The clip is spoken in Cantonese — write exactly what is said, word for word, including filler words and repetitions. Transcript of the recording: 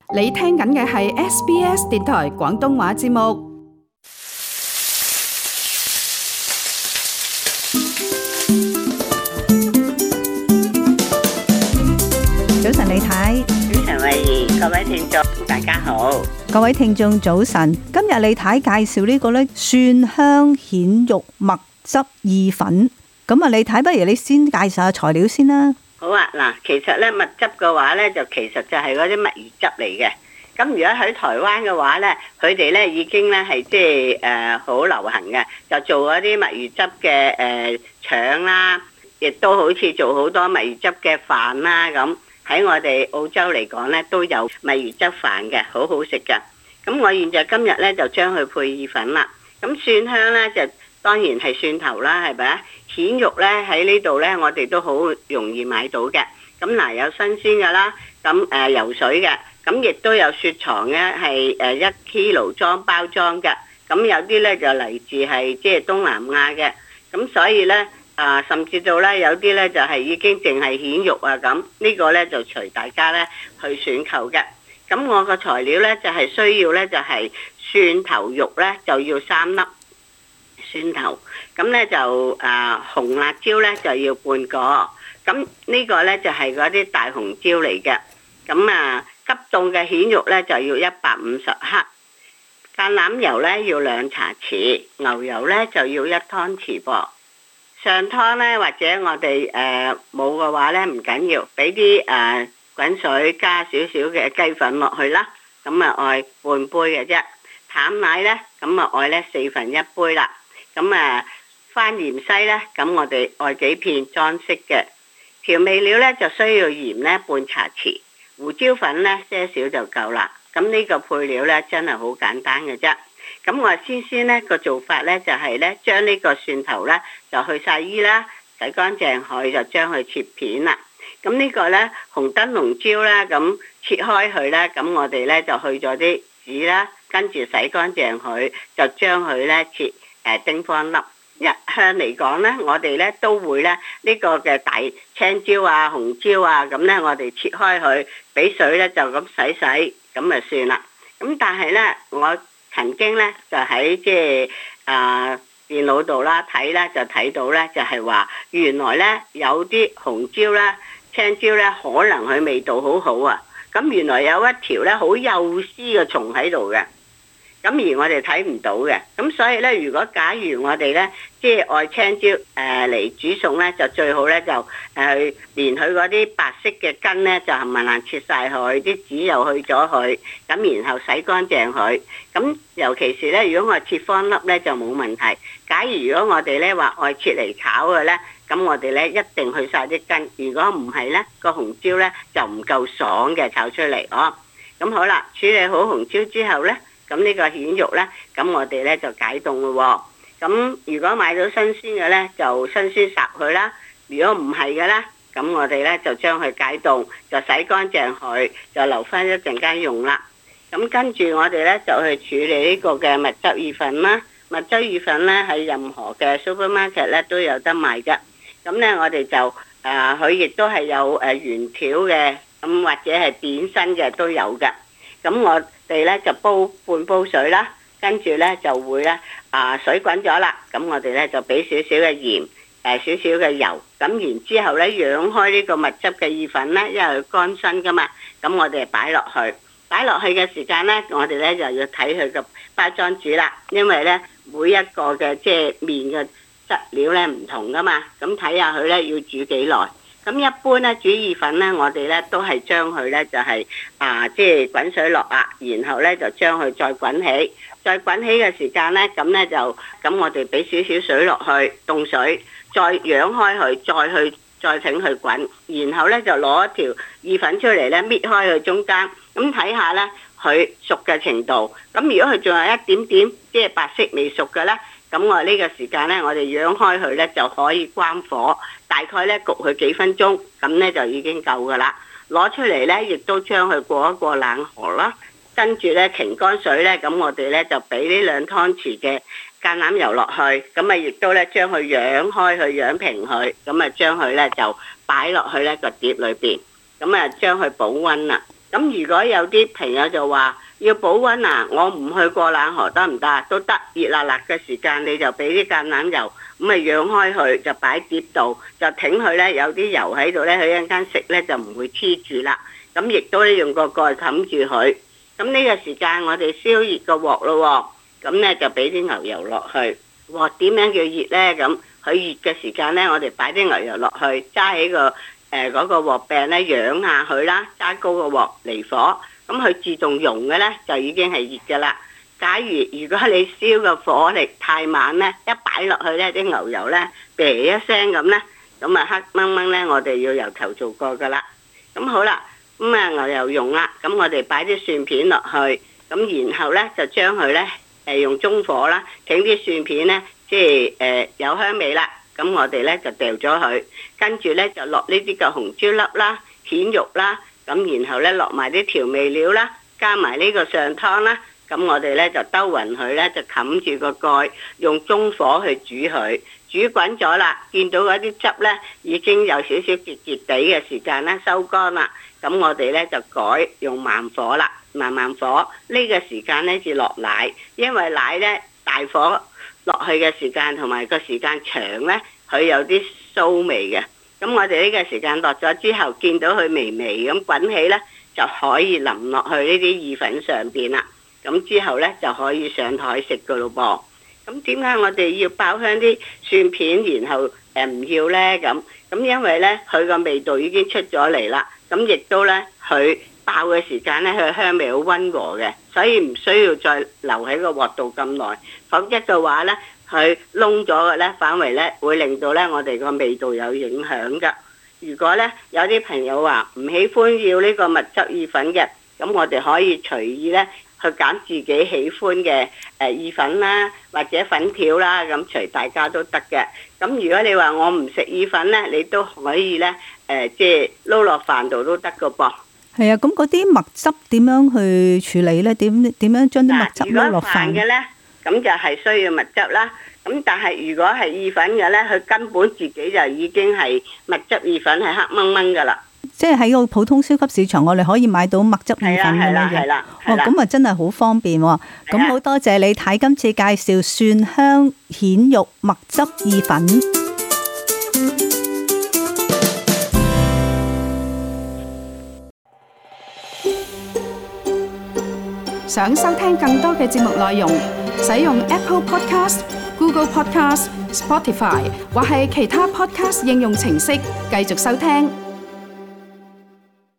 你聽緊嘅係 S B S 電台廣東話節目。早晨，李太。 早晨，慧兒，各位聽眾，大家好。 各位聽眾早晨。今日李太介紹呢個咧蒜香蜆肉蜜汁意粉。咁啊，李太，不如你先介紹下材料先啦。 好啊，嗱，其實咧蜜汁嘅話咧，就其實就係嗰啲墨魚汁嚟嘅。咁如果喺台灣嘅話咧，佢哋咧已經咧係即係誒好流行嘅，就做嗰啲墨魚汁嘅誒腸啦，亦都好似做好多墨魚汁嘅飯啦咁。喺我哋澳洲嚟講咧，都有墨魚汁飯嘅，好好食㗎。咁我現在今日咧就將佢配意粉啦。咁蒜香咧就當然係蒜頭啦，係咪啊？蜆肉咧喺呢度咧，我哋都好容易買到嘅。咁嗱，有新鮮嘅啦，咁誒游水嘅，咁亦都有雪藏嘅，係誒一 kilo 裝包裝嘅。咁有啲咧就嚟自係即係東南亞嘅。咁所以咧啊，甚至到咧有啲咧就係已經淨係蜆肉啊咁。呢個咧就隨大家咧去選購嘅。咁我個材料咧就係需要咧就係蒜頭肉咧就要三粒。蒜頭，咁咧就啊紅辣椒咧就要半個，咁呢個咧就係嗰啲大紅椒嚟嘅。咁啊急凍嘅蜆肉咧就要一百五十克，橄欖油咧要兩茶匙，牛油咧就要一湯匙噃。上湯咧或者我哋誒冇嘅話咧唔緊要，俾啲誒滾水加少少嘅雞粉落去啦，咁啊愛半杯嘅啫。淡奶咧咁啊愛咧四分一杯啦。咁啊，番芫茜咧，咁我哋愛幾片裝飾嘅。調味料咧就需要鹽咧半茶匙，胡椒粉咧些少就夠啦。咁呢個配料咧真係好簡單嘅啫。咁我先先咧個做法咧就係咧將呢個蒜頭咧就去晒衣啦，洗乾淨佢就將佢切片啦。咁呢個咧紅燈籠椒啦，咁切開佢咧，咁我哋咧就去咗啲籽啦，跟住洗乾淨佢，就將佢咧切。誒丁方粒，一向嚟講咧，我哋咧都會咧呢個嘅大青椒啊、紅椒啊，咁咧我哋切開佢，俾水咧就咁洗洗，咁就算啦。咁但係咧，我曾經咧就喺即係啊電腦度啦睇咧，就睇到咧就係話原來咧有啲紅椒啦、青椒咧，可能佢味道好好啊。咁原來有一條咧好幼絲嘅蟲喺度嘅。咁而我哋睇唔到嘅，咁所以咧，如果假如我哋咧，即係愛青椒誒嚟煮餸咧，就最好咧就誒連佢嗰啲白色嘅根咧，就冚唪唥切晒佢，啲籽又去咗佢，咁然後洗乾淨佢。咁尤其是咧，如果我切方粒咧就冇問題。假如如果我哋咧話愛切嚟炒嘅咧，咁我哋咧一定去晒啲根。如果唔係咧，個紅椒咧就唔夠爽嘅炒出嚟哦。咁好啦，處理好紅椒之後咧。咁呢個蜆肉呢，咁我哋呢就解凍咯喎。咁如果買到新鮮嘅呢，就新鮮烚佢啦。如果唔係嘅呢，咁我哋呢就將佢解凍，就洗乾淨佢，就留翻一陣間用啦。咁跟住我哋呢就去處理呢個嘅蜜汁意粉啦。蜜汁意粉呢，喺任何嘅 supermarket 呢都有得賣㗎。咁呢，我哋就誒佢亦都係有誒圓條嘅，咁或者係扁身嘅都有㗎。咁我哋咧就煲半煲水啦，跟住咧就會咧啊水滾咗啦，咁我哋咧就俾少少嘅鹽，誒少少嘅油，咁然之後咧養開呢個蜜汁嘅意粉咧，因為佢乾身噶嘛，咁我哋擺落去，擺落去嘅時間咧，我哋咧就要睇佢個包裝紙啦，因為咧每一個嘅即係麵嘅質料咧唔同噶嘛，咁睇下佢咧要煮幾耐。咁一般咧煮意粉咧，我哋咧都係將佢咧就係、是、啊，即係滾水落啊，然後咧就將佢再滾起，再滾起嘅時間咧，咁咧就咁我哋俾少少水落去，凍水，再揚開佢，再去再請佢滾，然後咧就攞一條意粉出嚟咧，搣開佢中間，咁睇下咧佢熟嘅程度。咁如果佢仲有一點點即係白色未熟嘅咧，咁我呢個時間呢，我哋揚開佢呢，就可以關火，大概呢焗佢幾分鐘，咁呢就已經夠噶啦。攞出嚟呢，亦都將佢過一過冷河啦，跟住呢，擎乾水呢，咁我哋呢，就俾呢兩湯匙嘅橄欖油落去，咁啊亦都呢，將佢揚開佢，揚平佢，咁啊將佢呢，就擺落去呢個碟裏邊，咁啊將佢保溫啦。咁咁如果有啲朋友就話要保溫啊，我唔去過冷河得唔得？都得，熱辣辣嘅時間你就俾啲橄欖油，咁啊揚開佢，就擺碟度，就挺佢呢，有啲油喺度呢，佢一陣間食呢就唔會黐住啦。咁亦都用個蓋冚住佢。咁呢個時間我哋燒熱個鑊咯，咁呢就俾啲牛油落去。鑊點樣叫熱呢？咁佢熱嘅時間呢，我哋擺啲牛油落去，揸起個誒嗰、呃嗰個鑊柄呢，揚下佢啦，揸高個鑊離火，咁佢自動溶嘅呢，就已經係熱噶啦。假如如果你燒個火力太慢呢，一擺落去呢啲牛油呢，啤一聲咁呢，咁啊黑掹掹呢，我哋要由頭做過噶啦。咁好啦，咁啊牛油溶啦，咁我哋擺啲蒜片落去，咁然後呢，就將佢呢，誒用中火啦，整啲蒜片呢，即係誒、呃、有香味啦。咁我哋呢，就掉咗佢，跟住呢，就落呢啲嘅紅椒粒啦、蜆肉啦，咁然後呢，落埋啲調味料啦，加埋呢個上湯啦，咁我哋呢，就兜勻佢呢，就冚住個蓋，用中火去煮佢，煮滾咗啦，見到嗰啲汁呢，已經有少少結結地嘅時間呢，收乾啦，咁我哋呢，就改用慢火啦，慢慢火呢、這個時間呢，至落奶，因為奶呢，大火落去嘅時間同埋個時間長呢，佢有啲騷味嘅。咁我哋呢個時間落咗之後，見到佢微微咁滾起呢，就可以淋落去呢啲意粉上邊啦。咁之後呢，就可以上台食噶咯噃。咁點解我哋要爆香啲蒜片，然後誒唔要呢？咁咁因為呢，佢個味道已經出咗嚟啦。咁亦都呢，佢爆嘅時間呢，佢香味好溫和嘅，所以唔需要再留喺個鑊度咁耐。否則嘅話呢，佢燶咗嘅呢，反為呢會令到呢我哋個味道有影響噶。如果呢，有啲朋友話唔喜歡要呢個蜜汁意粉嘅，咁我哋可以隨意呢去揀自己喜歡嘅誒意粉啦，或者粉條啦，咁隨大家都得嘅。咁如果你話我唔食意粉呢，你都可以呢，誒即係撈落飯度都得噶噃。 係啊，咁嗰啲蜜汁點樣去處理呢？點點樣將啲蜜汁撈落飯嘅呢？咁就係需要蜜汁啦。咁但係如果係意粉嘅呢，佢根本自己就已經係蜜汁意粉，係黑掹掹噶啦。 即係喺個普通超級市場，我哋可以買到蜜汁意粉咁樣嘅。哦，咁啊真係好方便喎。咁好多謝你睇今次介紹蒜香蜆肉蜜汁意粉。 想收聽更多嘅節目內容，使用 Apple Podcast、Google Podcast、Spotify 或係其他 Podcast 應用程式繼續收聽。